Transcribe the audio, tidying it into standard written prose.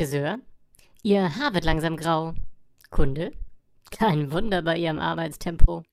Friseur. Ihr Haar wird langsam grau. Kunde. Kein Wunder bei Ihrem Arbeitstempo.